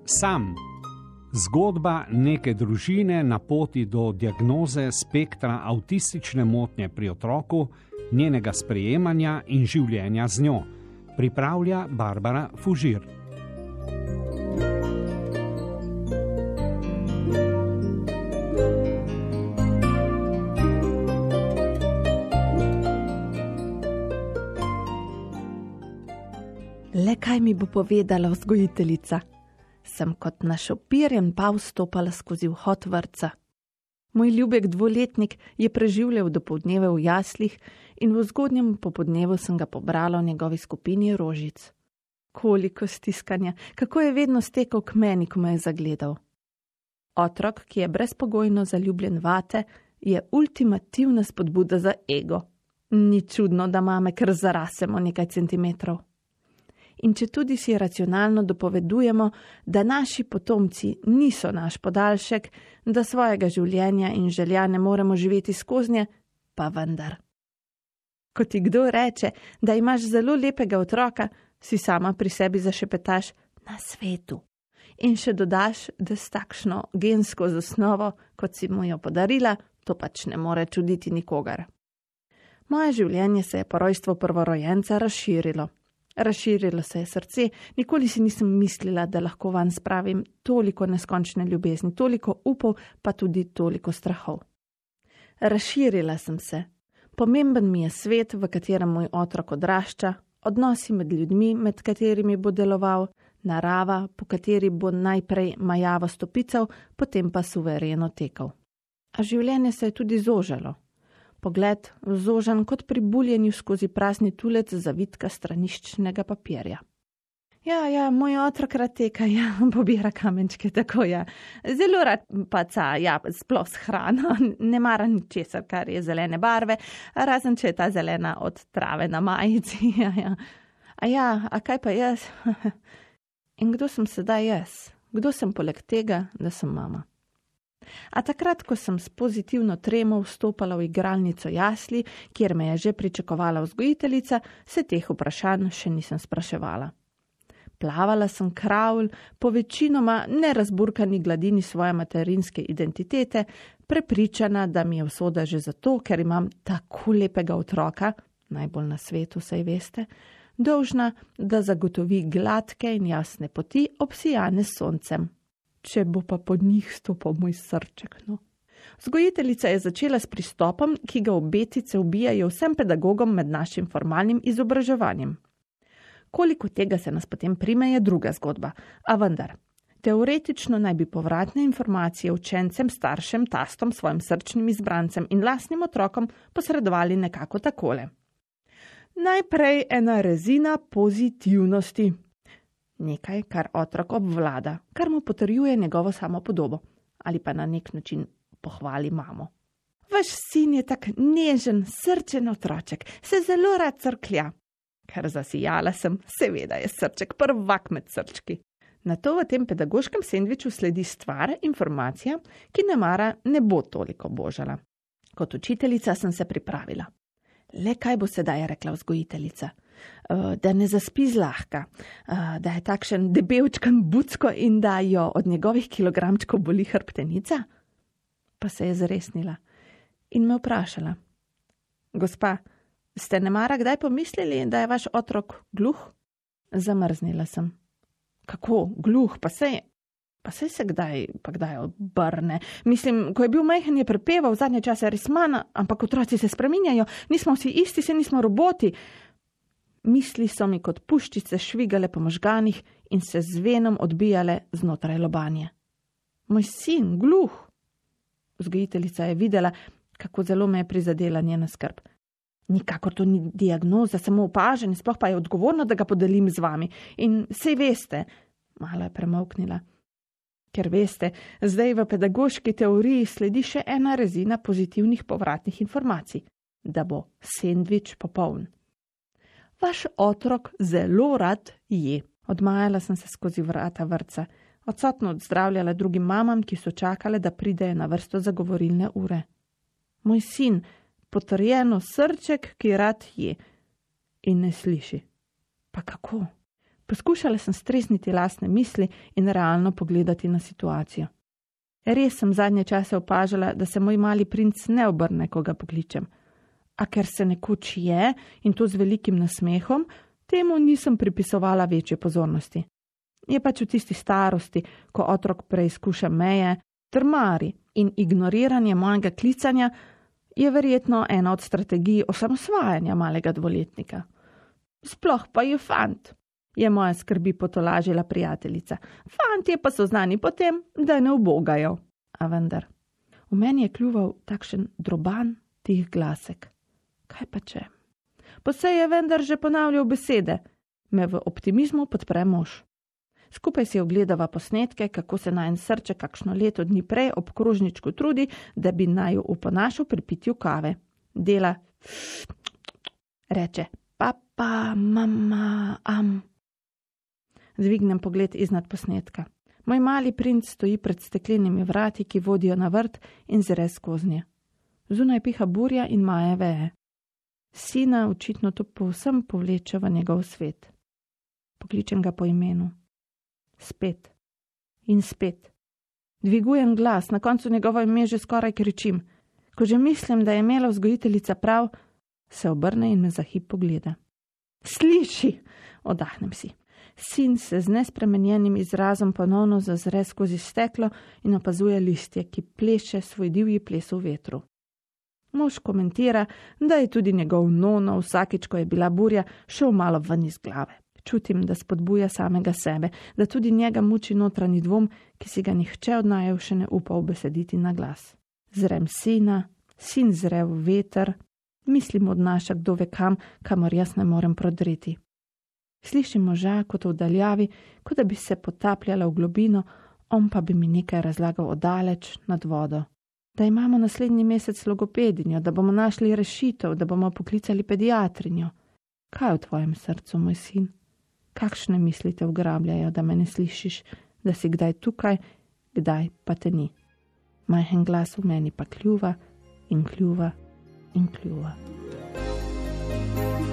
Sam. Zgodba neke družine na poti do diagnoze spektra avtistične motnje pri otroku, njenega sprejemanja in življenja z njo. Pripravlja Barbara Fužir. Le kaj mi bo povedala vzgojiteljica? Sem kot našopirjen pav stopala skozi vhod vrtca. Moj ljubek 2-letnik je preživljal dopoldneve v jaslih in v zgodnjem popodnevu sem ga pobrala v njegovi skupini rožic. Koliko stiskanja, kako je vedno stekel k meni, ko me je zagledal. Otrok, ki je brezpogojno zaljubljen vate, je ultimativna spodbuda za ego. Ni čudno, da mame kar zarasemo nekaj centimetrov. In če tudi si racionalno dopovedujemo, da naši potomci niso naš podaljšek, da svojega življenja in želja ne moremo živeti skoznje, pa vendar. Ko ti kdo reče, da imaš zelo lepega otroka, si sama pri sebi zašepetaš na svetu. In še dodaš, da s takšno gensko zasnovo, kot si mu jo podarila, to pač ne more čuditi nikogar. Moje življenje se je po rojstvu prvorojenca razširilo. Razširilo se je srce, nikoli si nisem mislila, da lahko vanj spravim toliko neskončne ljubezni, toliko upov, pa tudi toliko strahov. Razširila sem se. Pomemben mi je svet, v katerem moj otrok odrašča, odnosi med ljudmi, med katerimi bo deloval, narava, po kateri bo najprej majavo stopical, potem pa suvereno tekal. A življenje se je tudi zožalo. Pogled zožan kot pri buljenju skozi prazni tulec zavitka straniščnega papirja. Ja, moj otrok rad teka, pobira kamenčke, tako ja. Zelo rad paca, sploh s hrano, ne mara ničesar, kar je zelene barve, razen če je ta zelena od trave na majici, ja. A kaj pa jaz? In kdo sem sedaj jaz? Kdo sem poleg tega, da sem mama? A takrat, ko sem s pozitivno tremo vstopala v igralnico jasli, kjer me je že pričakovala vzgojiteljica, se teh vprašanj še nisem spraševala. Plavala sem kravl po večinoma nerazburkani gladini svoje materinske identitete, prepričana, da mi je usoda že zato, ker imam tako lepega otroka, najbolj na svetu, saj veste, dolžna, da zagotovi gladke in jasne poti, obsijane s soncem. Če bo pa pod njih stopal moj srček, no. Vzgojiteljica je začela s pristopom, ki ga obetice ubijajo vsem pedagogom med našim formalnim izobraževanjem. Koliko tega se nas potem prime, je druga zgodba, a vendar. Teoretično naj bi povratne informacije učencem, staršem, tastom, svojim srčnim izbrancem in lastnim otrokom posredovali nekako takole. Najprej ena rezina pozitivnosti. Nekaj, kar otrok obvlada, kar mu potrjuje njegovo samopodobo ali pa na nek način pohvali mamo. Vaš sin je tak nežen, srčen otroček, se zelo rad crklja. Ker zasijala sem, seveda je srček prvak med srčki. Nato v tem pedagoškem sendviču sledi stvar, informacija, ki nemara ne bo toliko božala. Kot učiteljica sem se pripravila. Le kaj bo sedaj rekla vzgojiteljica? Da ne zaspi zlahka, da je takšen debelčkan bucko in da jo od njegovih kilogramčkov boli hrbtenica? Pa se je zresnila in me vprašala. Gospa, ste nemara kdaj pomislili, da je vaš otrok gluh? Zamrznila sem. Kako gluh, pa saj se kdaj obrne. Mislim, ko je bil majhen, je prepeval, zadnje čase res manj, ampak otroci se spreminjajo, nismo vsi isti, se nismo roboti. Misli so mi kot puščice švigale po možganih in se z venom odbijale znotraj lobanje. Moj sin, gluh. Vzgojiteljica je videla, kako zelo me je prizadela njena skrb. Nikakor to ni diagnoza, samo opažanje, sploh pa je odgovorno, da ga podelim z vami. In sej veste, malo je premolknila. Ker veste, zdaj v pedagoški teoriji sledi še ena rezina pozitivnih povratnih informacij, da bo sendvič popoln. Vaš otrok zelo rad je. Odmajala sem se skozi vrata vrtca, odsotno odzdravljala drugim mamam, ki so čakale, da pridejo na vrsto za govorilne ure. Moj sin, potrjeno srček, ki rad je in ne sliši. Pa kako? Poskušala sem stresniti lastne misli in realno pogledati na situacijo. Res sem zadnje čase opažala, da se moj mali princ ne obrne, ko ga pokličem. A ker se nekoč je, in to z velikim nasmehom, temu nisem pripisovala večje pozornosti. Je pač v tisti starosti, ko otrok preizkuša meje, trmari in ignoriranje mojega klicanja je verjetno ena od strategij osamosvajanja malega dvoletnika. Sploh pa je fant, je moja skrbi potolažila prijateljica. Fantje pa so znani potem, da ne ubogajo. A vendar, v meni je kljuval takšen droban tih glasek. Kaj pa če? Pa se je vendar že ponavljal besede, me v optimizmu podpre mož. Skupaj si ogledava posnetke, kako se najen srček kakšno leto dni prej ob krožničku trudi, da bi naju uponašal pri pitju kave. Dela, reče, papa, mama, Dvignem pogled iznad posnetka. Moj mali princ stoji pred steklenimi vrati, ki vodijo na vrt in zre skoznje. Zunaj piha burja in maje veje. Sina očitno to povsem povleče v njegov svet. Pokličem ga po imenu. Spet. In spet. Dvigujem glas, na koncu njegovo ime že skoraj kričim. Ko že mislim, da je imela vzgojiteljica prav, se obrne in me za hip pogleda. Sliši! Oddahnem si. Sin se z nespremenjenim izrazom ponovno zazre skozi steklo in opazuje listje, ki pleše svoj divji ples v vetru. Mož komentira, da je tudi njegov nono vsakič, ko je bila burja, šel malo ven iz glave. Čutim, da spodbuja samega sebe, da tudi njega muči notranji dvom, ki si ga nihče od naju še ne upa ubesediti na glas. Zrem sina, sin zre v veter, mislim odnaša kdo ve kam, kamor jaz ne morem prodreti. Slišim moža kot v daljavi, kot da bi se potapljala v globino, on pa bi mi nekaj razlagal odaleč nad vodo. Da imamo naslednji mesec logopedinjo, da bomo našli rešitev, da bomo poklicali pediatrinjo. Kaj je v tvojem srcu, moj sin? Kakšne misli te ugrabljajo, da me ne slišiš, da si kdaj tukaj, kdaj pa te ni? Majhen glas v meni pa kljuva in kljuva in kljuva.